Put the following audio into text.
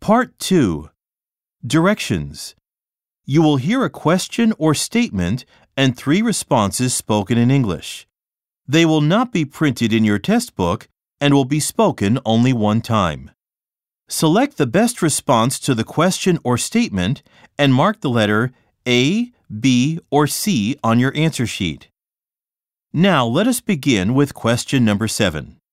Part 2. Directions. You will hear a question or statement and 3 responses spoken in English. They will not be printed in your test book and will be spoken only one time. Select the best response to the question or statement and mark the letter A, B, or C on your answer sheet. Now let us begin with question number 7.